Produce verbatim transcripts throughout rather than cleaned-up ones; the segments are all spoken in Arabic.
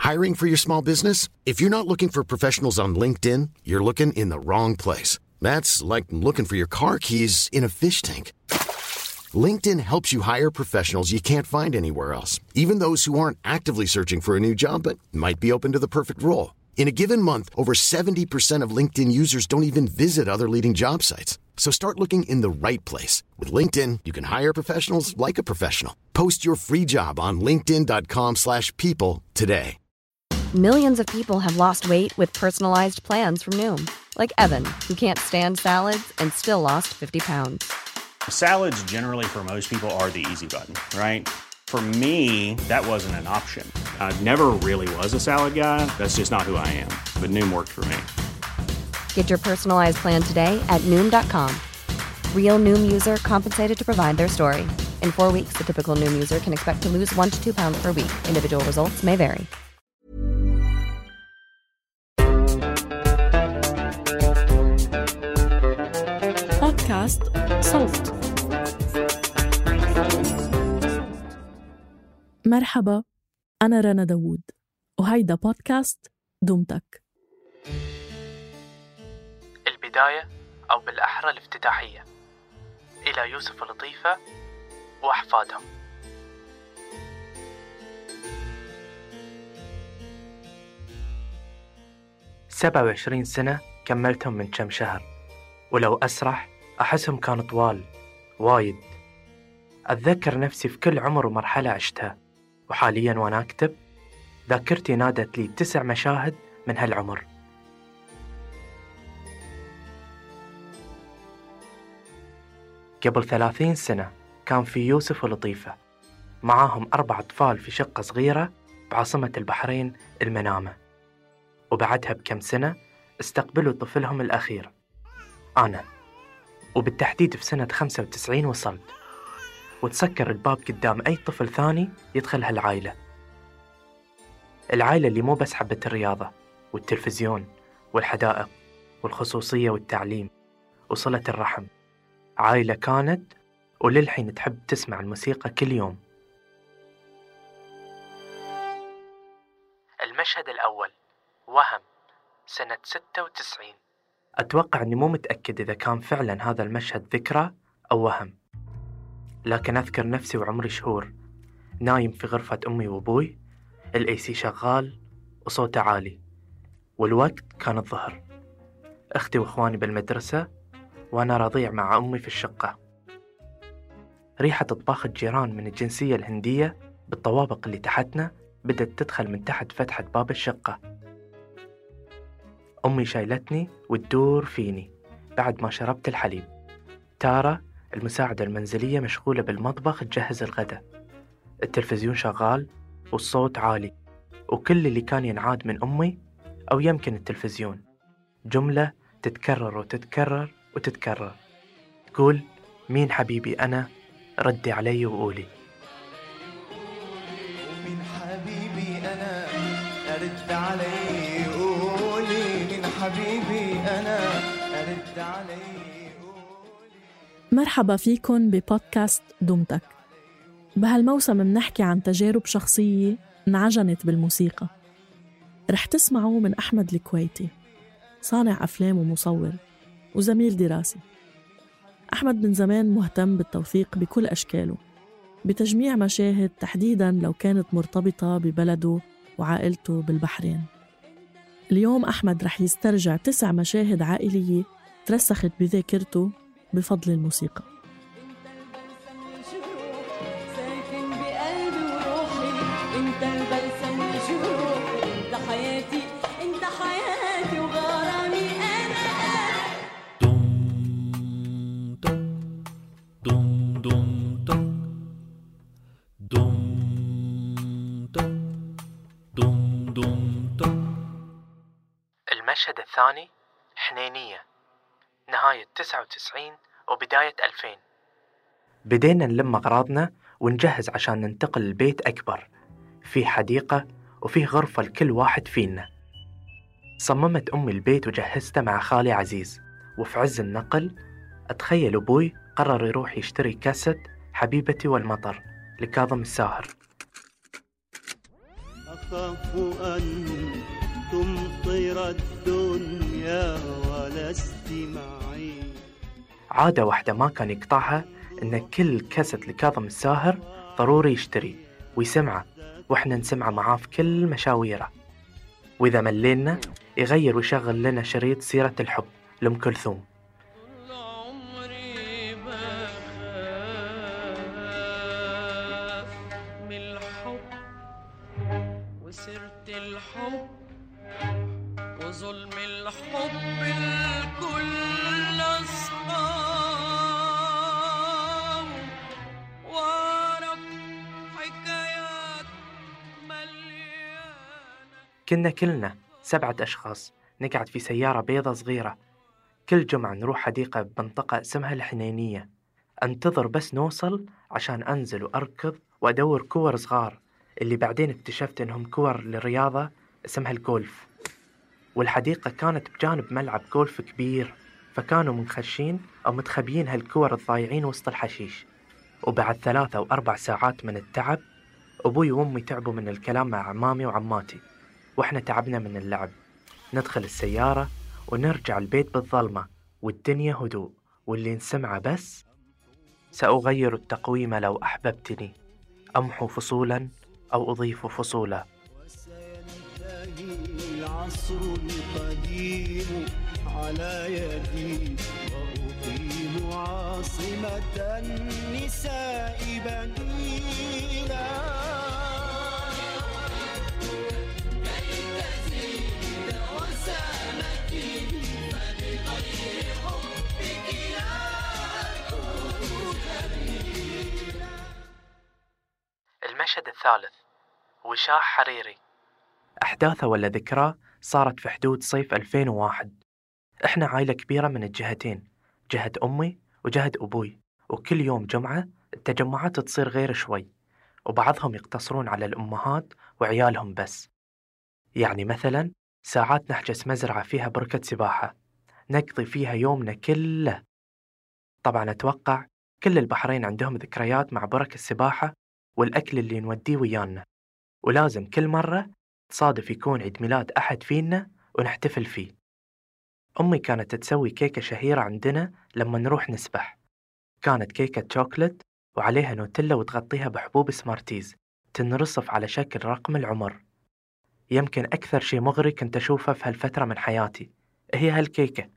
Hiring for your small business? If you're not looking for professionals on LinkedIn, you're looking in the wrong place. That's like looking for your car keys in a fish tank. LinkedIn helps you hire professionals you can't find anywhere else, even those who aren't actively searching for a new job but might be open to the perfect role. In a given month, over seventy percent of LinkedIn users don't even visit other leading job sites. So start looking in the right place. With LinkedIn, you can hire professionals like a professional. Post your free job on linkedin.com slash people today. Millions of people have lost weight with personalized plans from Noom. Like Evan, who can't stand salads and still lost fifty pounds. Salads generally for most people are the easy button, right? For me, that wasn't an option. I never really was a salad guy. That's just not who I am. But Noom worked for me. Get your personalized plan today at Noom dot com. Real Noom user compensated to provide their story. In four weeks, the typical Noom user can expect to lose one to two pounds per week. Individual results may vary. بودكاست صوت. مرحبا، أنا رنا داوود وهيدا بودكاست دمتك. البداية أو بالأحرى الافتتاحية إلى يوسف لطيفة وأحفادهم. سبعة وعشرين سنة كملتهم من كم شهر، ولو أسرح أحسهم كانوا طوال وايد. أتذكر نفسي في كل عمر ومرحلة عشتها، وحالياً وأنا أكتب ذاكرتي نادت لي تسع مشاهد من هالعمر. قبل ثلاثين سنة كان في يوسف ولطيفة معاهم أربع أطفال في شقة صغيرة بعاصمة البحرين المنامة، وبعدها بكم سنة استقبلوا طفلهم الأخير أنا، وبالتحديد في سنة خمسة وتسعين وصلت، وتسكر الباب قدام أي طفل ثاني يدخل هالعائلة. العائلة اللي مو بس حبت الرياضة والتلفزيون والحدائق والخصوصية والتعليم وصلة الرحم، عائلة كانت وللحين تحب تسمع الموسيقى كل يوم. المشهد الأول وهم سنة ستة وتسعين. أتوقع أني مو متأكد إذا كان فعلا هذا المشهد ذكرى أو وهم، لكن أذكر نفسي وعمري شهور نايم في غرفة أمي وأبوي، الأي سي شغال وصوته عالي، والوقت كان الظهر، أختي وإخواني بالمدرسة وأنا رضيع مع أمي في الشقة. ريحة طباخ الجيران من الجنسية الهندية بالطوابق اللي تحتنا بدأت تدخل من تحت فتحة باب الشقة. أمي شايلتني وتدور فيني بعد ما شربت الحليب. تارا المساعدة المنزلية مشغولة بالمطبخ تجهز الغداء. التلفزيون شغال والصوت عالي، وكل اللي كان ينعاد من أمي أو يمكن التلفزيون جملة تتكرر وتتكرر وتتكرر، تقول مين حبيبي أنا؟ ردي علي وقولي. مين حبيبي أنا؟ رد علي قولي. مين حبيبي أنا؟ رد علي قولي. مرحبا فيكن ببودكاست دمتك. بهالموسم منحكي عن تجارب شخصية انعجنت بالموسيقى. رح تسمعوا من أحمد الكويتي، صانع أفلام ومصور وزميل دراسي. أحمد من زمان مهتم بالتوثيق بكل أشكاله، بتجميع مشاهد تحديداً لو كانت مرتبطة ببلده وعائلته بالبحرين. اليوم أحمد رح يسترجع تسع مشاهد عائلية ترسخت بذاكرته بفضل الموسيقى. المشهد الثاني حنينية، نهاية تسعة وتسعين وبداية ألفين. بدينا نلم أغراضنا ونجهز عشان ننتقل لبيت أكبر، فيه حديقة وفيه غرفة لكل واحد فينا. صممت أمي البيت وجهزته مع خالي عزيز، وفي عز النقل أتخيل أبوي قرر يروح يشتري كاسة حبيبتي والمطر لكاظم الساهر. أخاف أن تمطر الدنيا ولست معي. عادة واحدة ما كان يقطعها إن كل كاسة لكاظم الساهر ضروري يشتري ويسمعه، وإحنا نسمعه معاه في كل مشاويره. وإذا ملينا يغير ويشغل لنا شريط سيرة الحب لأم كلثوم. عمري ما خاف من الحب وسرت الحب وظلم الحب الكل أصحاب وأعرف حكايات مليانة. كنا كلنا سبعة أشخاص نقعد في سيارة بيضة صغيرة، كل جمعة نروح حديقة بمنطقة اسمها الحنينية، أنتظر بس نوصل عشان أنزل وأركض وأدور كور صغار اللي بعدين اكتشفت إنهم كور للرياضة اسمها الجولف. والحديقة كانت بجانب ملعب جولف كبير، فكانوا منخشين أو متخبيين هالكور الضايعين وسط الحشيش. وبعد ثلاثة أو أربع ساعات من التعب أبوي وأمي تعبوا من الكلام مع عمامي وعماتي، وإحنا تعبنا من اللعب. ندخل السيارة ونرجع البيت بالظلمة والدنيا هدوء، واللي نسمعه بس: سأغير التقويم لو أحببتني، أمحو فصولا أو أضيف فصولا. وسينتهي العصر القديم على يدي وأقيم عاصمة النساء بنينا. المشهد الثالث: وشاح حريري. أحداثه ولا ذكراه صارت في حدود صيف ألفين وواحد. إحنا عائلة كبيرة من الجهتين، جهة أمي وجهة أبوي، وكل يوم جمعة التجمعات تصير غير شوي، وبعضهم يقتصرون على الأمهات وعيالهم بس. يعني مثلا ساعات نحجز مزرعة فيها بركة سباحة نقضي فيها يومنا كله. طبعا أتوقع كل البحرين عندهم ذكريات مع بركة السباحة والأكل اللي نوديه ويانا، ولازم كل مرة تصادف يكون عيد ميلاد أحد فينا ونحتفل فيه. أمي كانت تسوي كيكة شهيرة عندنا لما نروح نسبح، كانت كيكة شوكولات وعليها نوتيلا وتغطيها بحبوب سمارتيز تنرصف على شكل رقم العمر. يمكن أكثر شيء مغري كنت أشوفه في هالفترة من حياتي هي هالكيكة.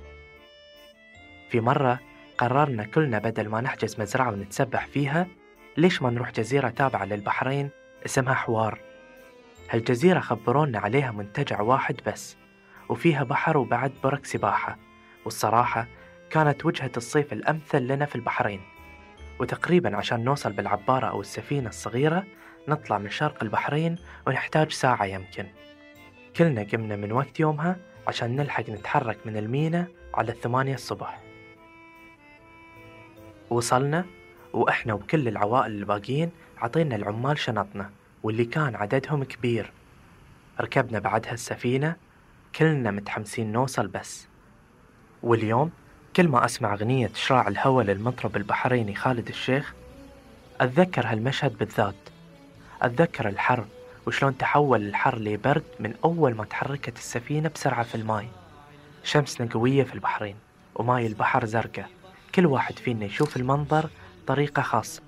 في مرة قررنا كلنا بدل ما نحجز مزرعة ونتسبح فيها، ليش ما نروح جزيرة تابعة للبحرين اسمها حوار. هالجزيرة خبرونا عليها منتجع واحد بس، وفيها بحر وبعد برك سباحة، والصراحة كانت وجهة الصيف الأمثل لنا في البحرين. وتقريبا عشان نوصل بالعبارة أو السفينة الصغيرة نطلع من شرق البحرين ونحتاج ساعة يمكن. كلنا قمنا من وقت يومها عشان نلحق نتحرك من المينا على الثمانية الصبح. وصلنا وإحنا وكل العوائل الباقيين عطينا العمال شنطنا، واللي كان عددهم كبير. ركبنا بعدها السفينة، كلنا متحمسين نوصل بس. واليوم كل ما أسمع أغنية شراع الهوى للمطرب البحريني خالد الشيخ أتذكر هالمشهد بالذات. أتذكر الحر وشلون تحول الحر لبرد من أول ما تحركت السفينة بسرعة في الماء. شمسنا قوية في البحرين وماي البحر زرقاء، كل واحد فينا يشوف المنظر طريقة خاصة.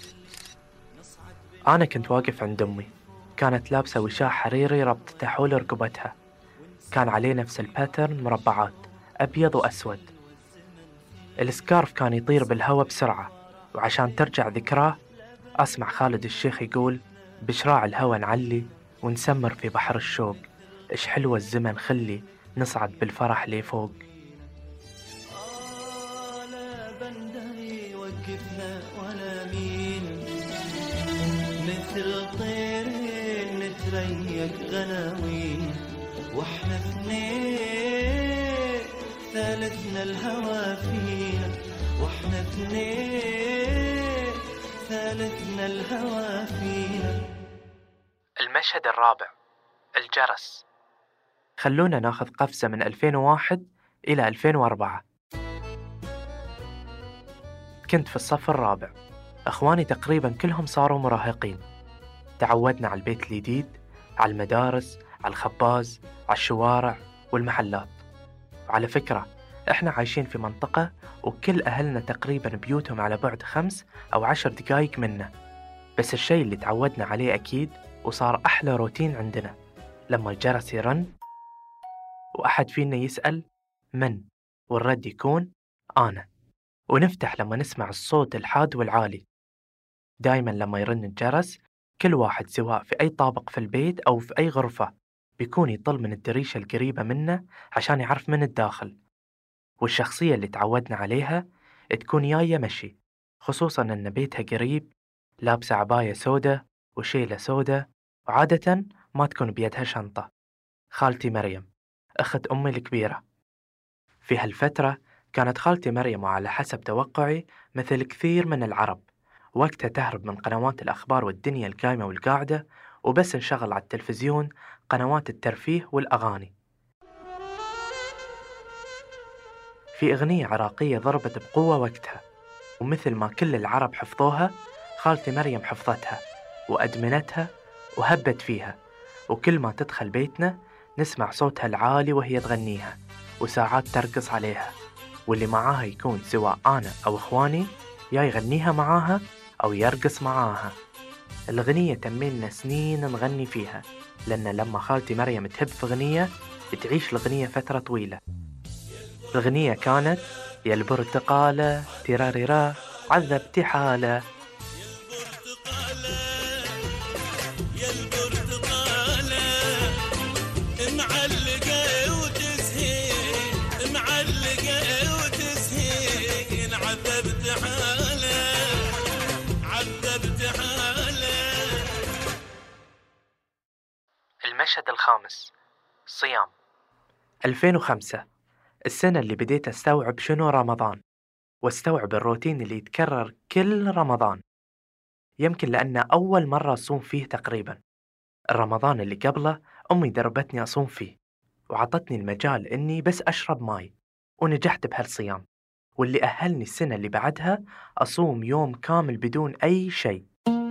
أنا كنت واقف عند أمي، كانت لابسة وشاح حريري ربطته حول رقبتها، كان عليه نفس الباترن مربعات أبيض وأسود. السكارف كان يطير بالهواء بسرعة، وعشان ترجع ذكراه أسمع خالد الشيخ يقول: بشراع الهوى نعلي ونسمر في بحر الشوق، إيش حلوة الزمن خلي نصعد بالفرح لي فوق. لا بندري وقفنا ولا مين، مثل طيرين نتريق غناوين، واحنا اثنين ثالثنا الهوى فينا، واحنا اثنين ثالثنا الهوى فينا. المشهد الرابع: الجرس. خلونا ناخذ قفزة من ألفين وواحد إلى ألفين وأربعة. كنت في الصف الرابع، أخواني تقريبا كلهم صاروا مراهقين. تعودنا على البيت الجديد على المدارس، على الخباز، على الشوارع والمحلات. وعلى فكرة إحنا عايشين في منطقة وكل أهلنا تقريبا بيوتهم على بعد خمس أو عشر دقايق منا، بس الشيء اللي تعودنا عليه أكيد وصار أحلى روتين عندنا لما الجرس يرن وأحد فينا يسأل من، والرد يكون أنا، ونفتح لما نسمع الصوت الحاد والعالي. دايما لما يرن الجرس كل واحد سواء في أي طابق في البيت أو في أي غرفة بيكون يطل من الدريشة القريبة منه عشان يعرف من الداخل. والشخصية اللي تعودنا عليها تكون جاية مشي، خصوصا أن بيتها قريب، لابسة عباية سودة وشيلة سودة، وعادة ما تكون بيدها شنطة. خالتي مريم أخت أمي الكبيرة. في هالفترة كانت خالتي مريم وعلى حسب توقعي مثل كثير من العرب وقتها تهرب من قنوات الأخبار والدنيا القايمة والقاعدة وبس نشغل على التلفزيون قنوات الترفيه والأغاني. في أغنية عراقية ضربت بقوة وقتها، ومثل ما كل العرب حفظوها خالتي مريم حفظتها وأدمنتها وهبت فيها، وكل ما تدخل بيتنا نسمع صوتها العالي وهي تغنيها، وساعات ترقص عليها، واللي معاها يكون سواء أنا أو إخواني يا يغنيها معاها أو يرقص معاها. الأغنية تمينا سنين نغني فيها، لأن لما خالتي مريم تهب في أغنية تعيش الأغنية فترة طويلة. الأغنية كانت يا البرتقالة تراريرا عذبتي حالة. يا البرتقالة معلقة وتسهين، معلقة وتسهين، عذبت حالة، عذبت حالة. المشهد الخامس، صيام. ألفين وخمسة، السنة اللي بديت أستوعب شنو رمضان، واستوعب الروتين اللي يتكرر كل رمضان، يمكن لأنه أول مرة أصوم فيه تقريبا. الرمضان اللي قبله أمي دربتني أصوم فيه وعطتني المجال إني بس أشرب ماي، ونجحت بهالصيام، واللي أهلني السنة اللي بعدها أصوم يوم كامل بدون أي شيء.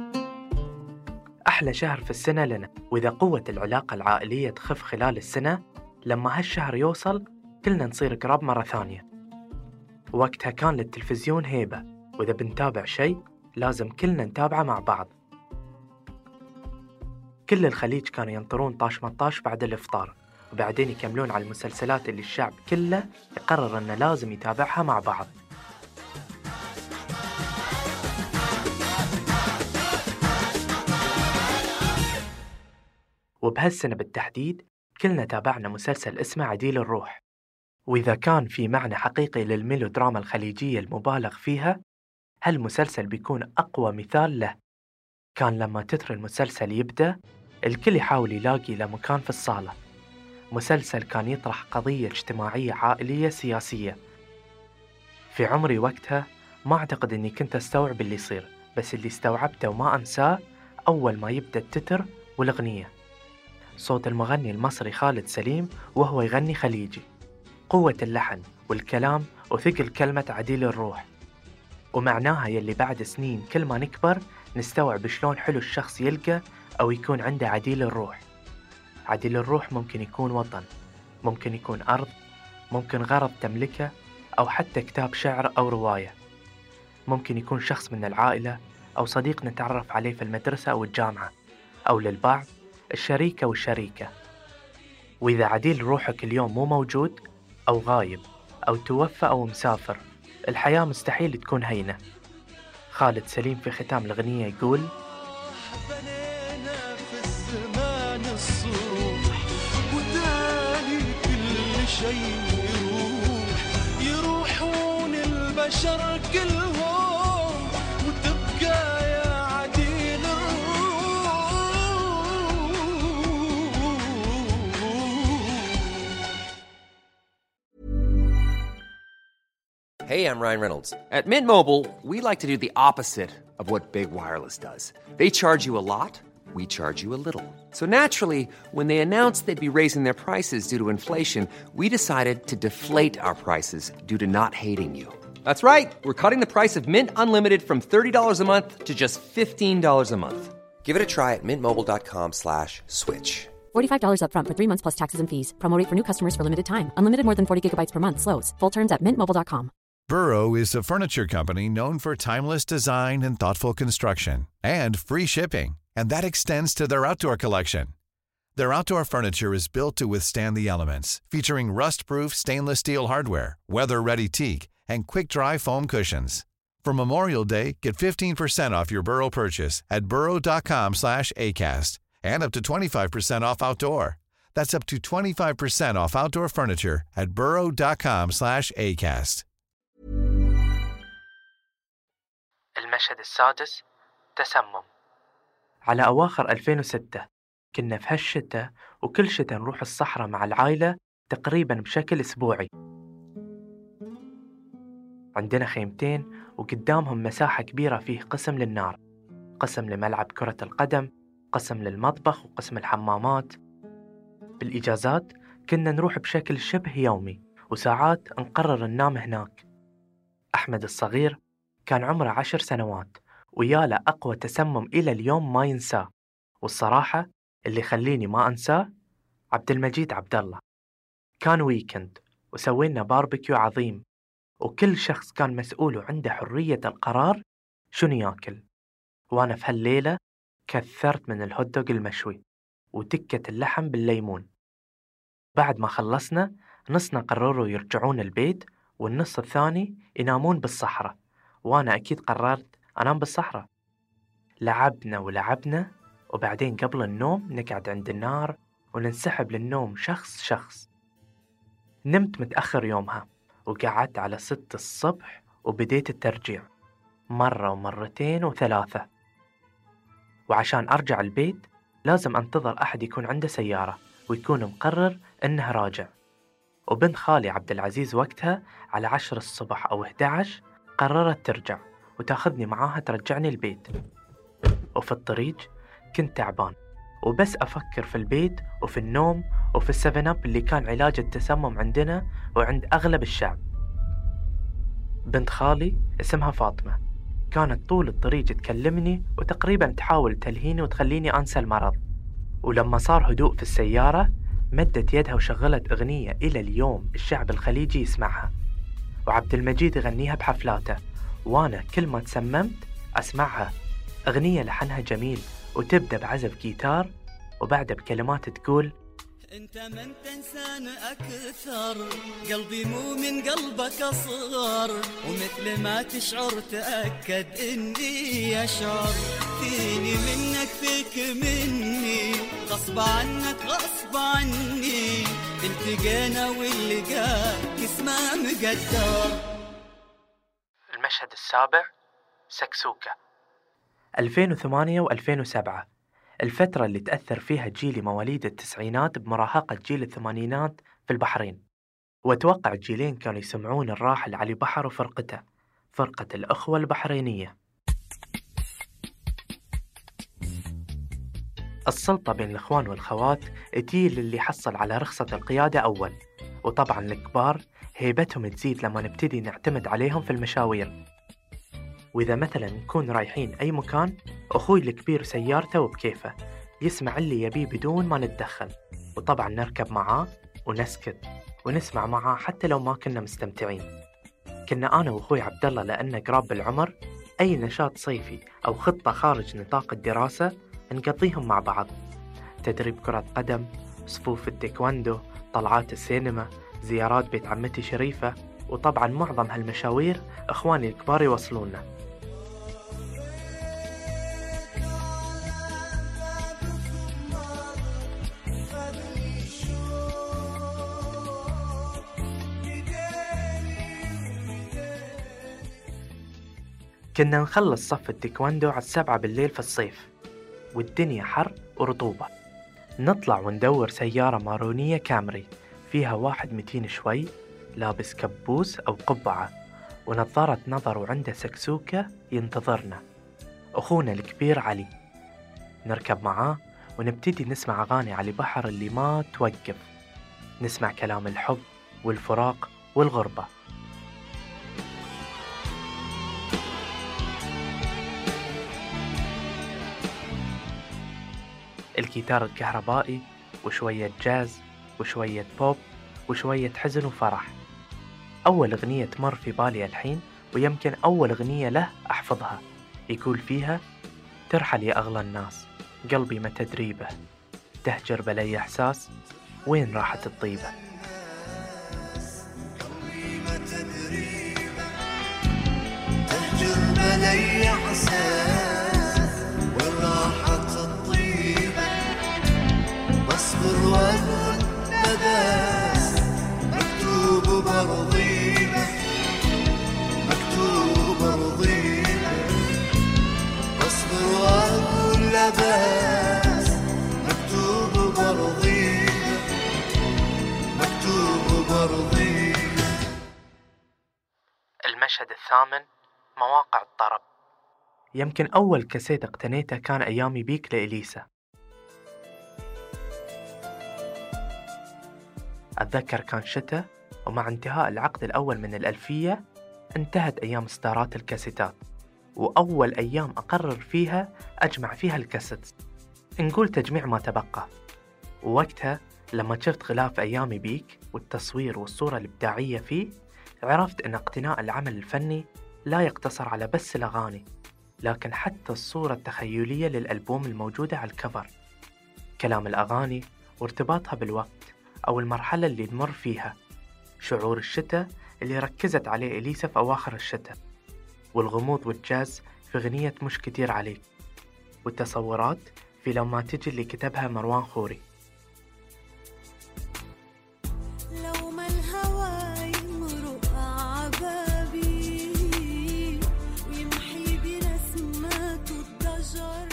أحلى شهر في السنة لنا، وإذا قوة العلاقة العائلية تخف خلال السنة لما هالشهر يوصل كلنا نصير قراب مرة ثانية. وقتها كان للتلفزيون هيبة، وإذا بنتابع شيء لازم كلنا نتابعه مع بعض. كل الخليج كانوا ينطرون طاش مطاش بعد الإفطار، وبعدين يكملون على المسلسلات اللي الشعب كله يقرر أنه لازم يتابعها مع بعض. وبهالسنة بالتحديد كلنا تابعنا مسلسل اسمه عديل الروح، وإذا كان في معنى حقيقي للميلودراما الخليجية المبالغ فيها، هالمسلسل بيكون أقوى مثال له. كان لما تتر المسلسل يبدأ الكل يحاول يلاقي له مكان في الصالة. مسلسل كان يطرح قضية اجتماعية عائلية سياسية. في عمري وقتها ما أعتقد أني كنت أستوعب اللي يصير، بس اللي استوعبته وما أنساه أول ما يبدأ التتر والأغنية، صوت المغني المصري خالد سليم وهو يغني خليجي، قوة اللحن والكلام وثقل كلمة عديل الروح، ومعناها يلي بعد سنين كل ما نكبر نستوعب شلون حلو الشخص يلقى أو يكون عنده عديل الروح. عديل الروح ممكن يكون وطن، ممكن يكون أرض، ممكن غرض تملكه، أو حتى كتاب شعر أو رواية. ممكن يكون شخص من العائلة أو صديق نتعرف عليه في المدرسة أو الجامعة، أو للبعض الشريكة والشريكة. وإذا عديل روحك اليوم مو موجود أو غايب أو توفى أو مسافر، الحياة مستحيل تكون هينة. خالد سليم في ختام الأغنية يقول: بنينا في الزمان الصروح وداني كل شيء يروح، يروحون البشر كلهم وتبقى يا عديل الروح. Hey, I'm Ryan Reynolds. At Mint Mobile, we like to do the opposite of what Big Wireless does. They charge you a lot, we charge you a little. So naturally, when they announced they'd be raising their prices due to inflation, we decided to deflate our prices due to not hating you. That's right. We're cutting the price of Mint Unlimited from thirty dollars a month to just fifteen dollars a month. Give it a try at mintmobile.com slash switch. forty-five dollars up front for three months plus taxes and fees. Promo rate for new customers for limited time. Unlimited more than forty gigabytes per month. Slows full terms at mint mobile dot com. Burrow is a furniture company known for timeless design and thoughtful construction and free shipping, and that extends to their outdoor collection. Their outdoor furniture is built to withstand the elements, featuring rust-proof stainless steel hardware, weather-ready teak, and quick-dry foam cushions. For Memorial Day, get fifteen percent off your Burrow purchase at burrow.com slash ACAST and up to twenty-five percent off outdoor. That's up to twenty-five percent off outdoor furniture at burrow.com slash ACAST. المشهد السادس، تسمم. على أواخر ألفين وستة كنا في هالشتاء، وكل شتاء نروح الصحراء مع العائلة تقريبا بشكل أسبوعي. عندنا خيمتين وقدامهم مساحة كبيرة فيه قسم للنار، قسم لملعب كرة القدم، قسم للمطبخ وقسم الحمامات. بالإجازات كنا نروح بشكل شبه يومي، وساعات نقرر ننام هناك. أحمد الصغير كان عمره عشر سنوات، وياله أقوى تسمم إلى اليوم ما ينساه، والصراحة اللي يخليني ما أنساه عبد المجيد عبد الله. كان ويكند وسوينا باربيكيو عظيم، وكل شخص كان مسؤول وعنده حرية القرار شنو ياكل. وأنا في هالليلة كثرت من الهوتدوغ المشوي وتكة اللحم بالليمون. بعد ما خلصنا، نصنا قرروا يرجعون البيت والنص الثاني ينامون بالصحراء، وأنا أكيد قررت أنام بالصحراء. لعبنا ولعبنا، وبعدين قبل النوم نقعد عند النار وننسحب للنوم شخص شخص. نمت متأخر يومها، وقعدت على ست الصبح وبديت الترجيع مرة ومرتين وثلاثة. وعشان أرجع البيت لازم أنتظر أحد يكون عنده سيارة ويكون مقرر إنه راجع. وبنت خالي عبد العزيز وقتها على عشر الصبح أو إحدى عشر قررت ترجع وتاخذني معاها ترجعني البيت. وفي الطريق كنت تعبان، وبس أفكر في البيت وفي النوم وفي السفن أب اللي كان علاج التسمم عندنا وعند أغلب الشعب. بنت خالي اسمها فاطمة، كانت طول الطريق تكلمني وتقريبا تحاول تلهيني وتخليني أنسى المرض. ولما صار هدوء في السيارة مدت يدها وشغلت أغنية إلى اليوم الشعب الخليجي يسمعها، وعبد المجيد يغنيها بحفلاته، وأنا كل ما تسممت أسمعها. أغنية لحنها جميل وتبدأ بعزف جيتار، وبعدها بكلمات تقول: انت من تنسان اكثر، قلبي مو من قلبك اصغر، ومثل ما تشعر تأكد اني اشعر، فيني منك فيك مني، غصب عنك غصب عني، التقينا واللقاك اسمه مقدر. المشهد السابع، سكسوكة. ألفين وثمانية وألفين وسبعة، الفترة اللي تأثر فيها جيل مواليد التسعينات بمراهقة جيل الثمانينات في البحرين. وأتوقع الجيلين كانوا يسمعون الراحل علي بحر وفرقته، فرقة الأخوة البحرينية. السلطة بين الإخوان والخوات تجي للي حصل على رخصة القيادة أول، وطبعا الكبار هيبتهم تزيد لما نبتدي نعتمد عليهم في المشاوير. وإذا مثلا نكون رايحين أي مكان، أخوي الكبير سيارته وبكيفه يسمع اللي يبيه بدون ما نتدخل، وطبعا نركب معاه ونسكت ونسمع معاه حتى لو ما كنا مستمتعين. كنا أنا وأخوي عبد الله لأنه قراب بالعمر، أي نشاط صيفي أو خطة خارج نطاق الدراسة نقضيهم مع بعض، تدريب كرة قدم، صفوف التايكواندو، طلعات السينما، زيارات بيت عمتي شريفة، وطبعا معظم هالمشاوير إخواني الكبار يوصلونا. كنا نخلص صف التايكواندو على السبعة بالليل في الصيف، والدنيا حر ورطوبة. نطلع وندور سيارة مارونية كامري فيها واحد متين شوي، لابس كبوس أو قبعة ونظارة نظر وعنده سكسوكة ينتظرنا، أخونا الكبير علي. نركب معاه ونبتدي نسمع أغاني علي بحر اللي ما توقف، نسمع كلام الحب والفراق والغربة. الجيتار الكهربائي وشوية جاز وشوية بوب وشوية حزن وفرح. أول أغنية تمر في بالي الحين، ويمكن أول أغنية له أحفظها، يقول فيها: ترحل يا أغلى الناس، قلبي ما تدريبه، تهجر بلي إحساس، وين راحت الطيبة. تهجر بلي إحساس، وين راحت الطيبة، بصبر وأقول بس مكتوب برضيبة، مكتوب برضيبة، بصبر وأقول بس مكتوب برضيبة، مكتوب برضيبة. المشهد الثامن، مواقع الطرب. يمكن أول كاسيت اقتنيته كان أيامي بيك لإليسا. أتذكر كان شتاء، ومع انتهاء العقد الأول من الألفية انتهت أيام ستارات الكاسيتات، وأول أيام أقرر فيها أجمع فيها الكاسيت، نقول تجميع ما تبقى. ووقتها لما شفت غلاف أيامي بيك والتصوير والصورة الإبداعية فيه، عرفت أن اقتناء العمل الفني لا يقتصر على بس الأغاني، لكن حتى الصورة التخيلية للألبوم الموجودة على الكفر، كلام الأغاني وارتباطها بالوقت أو المرحلة اللي نمر فيها، شعور الشتاء اللي ركزت عليه إليسا في أواخر الشتاء، والغموض والجاز في غنية مش كتير عليك، والتصورات في لما تجي اللي كتبها مروان خوري. لو ما الهوى يمرق عبابي ويمحي برسمات الضجر.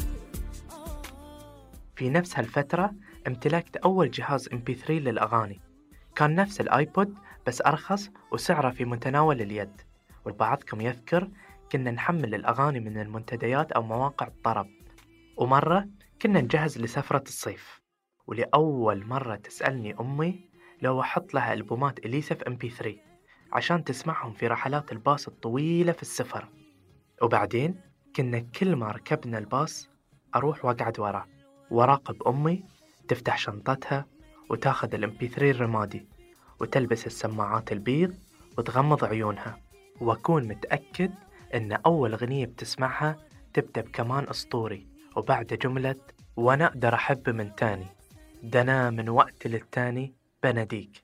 في نفس هالفترة امتلكت أول جهاز إم بي ثري للأغاني، كان نفس الآيبود بس أرخص وسعره في متناول اليد، والبعضكم يذكر كنا نحمل الأغاني من المنتديات أو مواقع الطرب. ومرة كنا نجهز لسفرة الصيف، ولأول مرة تسألني أمي لو أحط لها ألبومات إليسا في إم بي ثري عشان تسمعهم في رحلات الباص الطويلة في السفر. وبعدين كنا كل ما ركبنا الباص أروح وأقعد وراه وراقب أمي تفتح شنطتها وتاخذ الإم بي ثري الرمادي وتلبس السماعات البيض وتغمض عيونها، وأكون متأكد أن أول أغنية بتسمعها تبدأ بكمان أسطوري وبعد جملة وأنا أقدر أحب من تاني، دنا من وقت للتاني بناديك.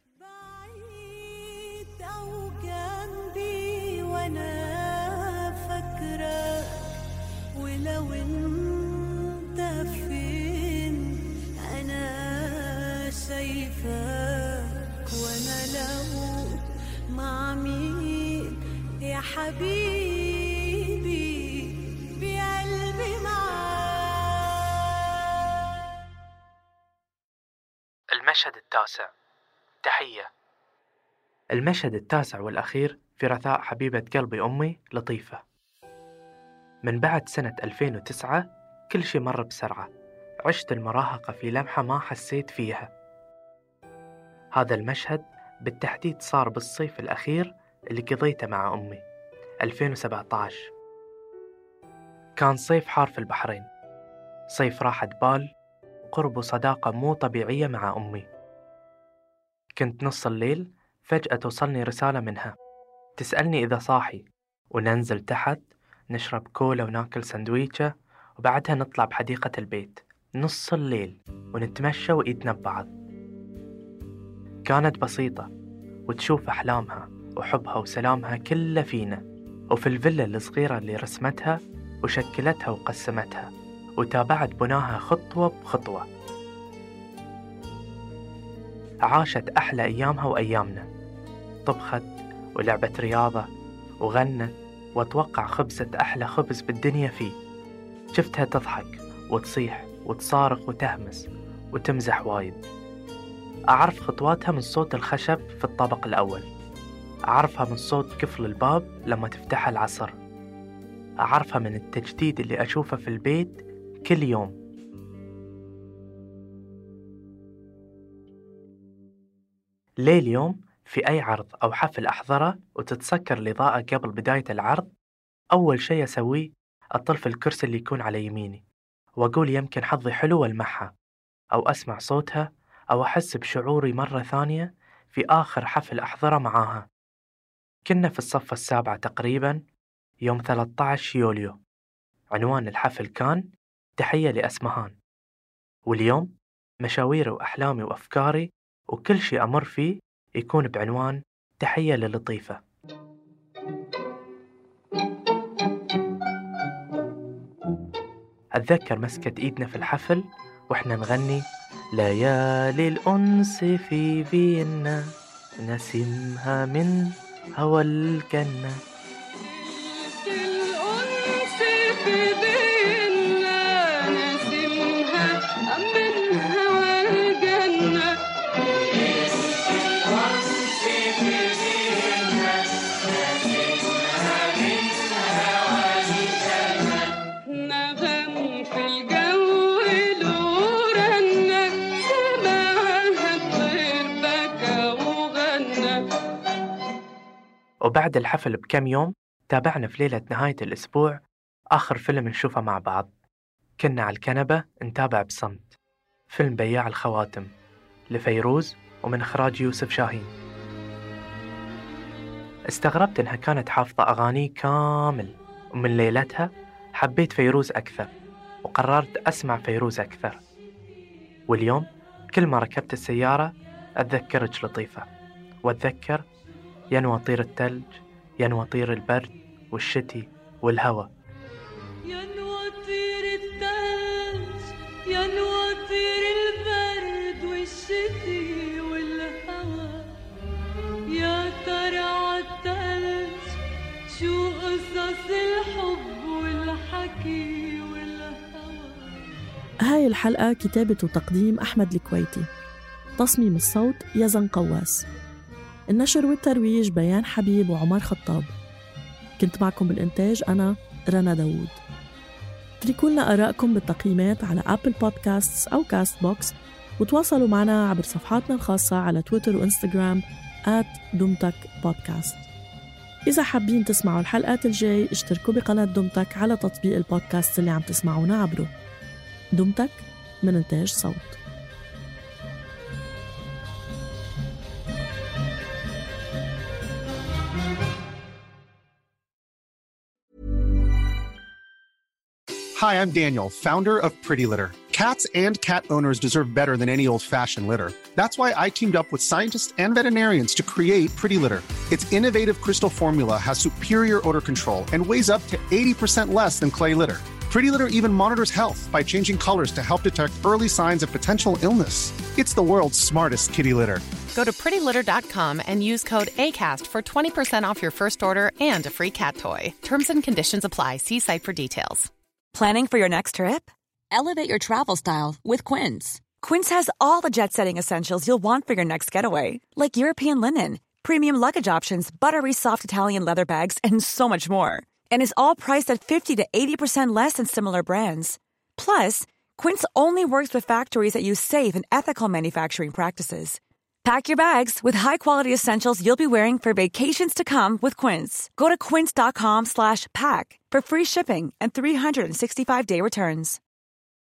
بعيد أو جنبي وأنا فاكرة، ولو أنت فين أنا شايفاك، وأنا لو مع مين يا حبيبي بقلبي معاك. المشهد التاسع، تحية. المشهد التاسع والأخير في رثاء حبيبة قلبي أمي لطيفة. من بعد سنة ألفين وتسعة كل شي مر بسرعة، عشت المراهقة في لمحة ما حسيت فيها. هذا المشهد بالتحديد صار بالصيف الأخير اللي قضيته مع أمي ألفين وسبعة عشر. كان صيف حار في البحرين، صيف راحة بال وقرب وصداقة مو طبيعية مع أمي. كنت نص الليل فجأة توصلني رسالة منها تسألني إذا صاحي، وننزل تحت نشرب كولا وناكل سندويشة، وبعدها نطلع بحديقة البيت نص الليل ونتمشى وإيدنا ببعض. كانت بسيطة وتشوف أحلامها وحبها وسلامها كله فينا، وفي الفيلا الصغيرة اللي رسمتها وشكلتها وقسمتها وتابعت بناها خطوة بخطوة. عاشت أحلى أيامها وأيامنا، طبخت ولعبت رياضة وغنت، وأتوقع خبزت أحلى خبز بالدنيا فيه. شفتها تضحك وتصيح وتصارخ وتهمس وتمزح وايد. أعرف خطواتها من صوت الخشب في الطابق الأول، أعرفها من صوت قفل الباب لما تفتحها العصر، أعرفها من التجديد اللي أشوفه في البيت كل يوم. ليه اليوم في أي عرض أو حفل أحضره وتتسكر الإضاءة قبل بداية العرض، أول شيء أسويه أطل في الكرسي اللي يكون على يميني وأقول يمكن حظي حلو والمعها، أو أسمع صوتها، أو أحس بشعوري مرة ثانية في آخر حفل أحضره معاها. كنا في الصف السابعة تقريبا يوم ثلاثة عشر يوليو. عنوان الحفل كان تحية لأسمهان، واليوم مشاويري وأحلامي وأفكاري وكل شيء أمر فيه يكون بعنوان تحية للطيفة. أتذكر مسكت إيدنا في الحفل وإحنا نغني ليالي الأنس في فيينا نسمها من هوى الجنة. وبعد الحفل بكم يوم تابعنا في ليلة نهاية الأسبوع آخر فيلم نشوفه مع بعض. كنا على الكنبة نتابع بصمت فيلم بياع الخواتم لفيروز ومن إخراج يوسف شاهين. استغربت إنها كانت حافظة أغاني كامل، ومن ليلتها حبيت فيروز أكثر وقررت أسمع فيروز أكثر. واليوم كل ما ركبت السيارة أتذكرك لطيفة، وأتذكر ينوى طير الثلج، ينوى طير البرد والشتي والهوى. ينوى طير الثلج، ينوى طير البرد والشتي والهوى. يا ترى عالثلج شو قصص الحب والحكي والهوى. هاي الحلقة كتابة وتقديم أحمد الكويتي، تصميم الصوت يزن قواس، النشر والترويج بيان حبيب وعمر خطاب. كنت معكم بالإنتاج أنا رنا داوود. اتركوا لنا آرائكم بالتقييمات على أبل بودكاستس أو كاست بوكس، وتواصلوا معنا عبر صفحاتنا الخاصة على تويتر وإنستغرام آت دمتك بودكاست. إذا حابين تسمعوا الحلقات الجاي اشتركوا بقناة دمتك على تطبيق البودكاست اللي عم تسمعونا عبره. دمتك من إنتاج صوت. Hi, I'm Daniel, founder of Pretty Litter. Cats and cat owners deserve better than any old-fashioned litter. That's why I teamed up with scientists and veterinarians to create Pretty Litter. Its innovative crystal formula has superior odor control and weighs up to eighty percent less than clay litter. Pretty Litter even monitors health by changing colors to help detect early signs of potential illness. It's the world's smartest kitty litter. Go to pretty litter dot com and use code ACAST for twenty percent off your first order and a free cat toy. Terms and conditions apply. See site for details. Planning for your next trip? Elevate your travel style with Quince. Quince has all the jet-setting essentials you'll want for your next getaway, like European linen, premium luggage options, buttery soft Italian leather bags, and so much more. And is all priced at fifty to eighty percent less than similar brands. Plus, Quince only works with factories that use safe and ethical manufacturing practices. Pack your bags with high-quality essentials you'll be wearing for vacations to come with Quince. Go to quince dot com slash pack for free shipping and three sixty-five day returns.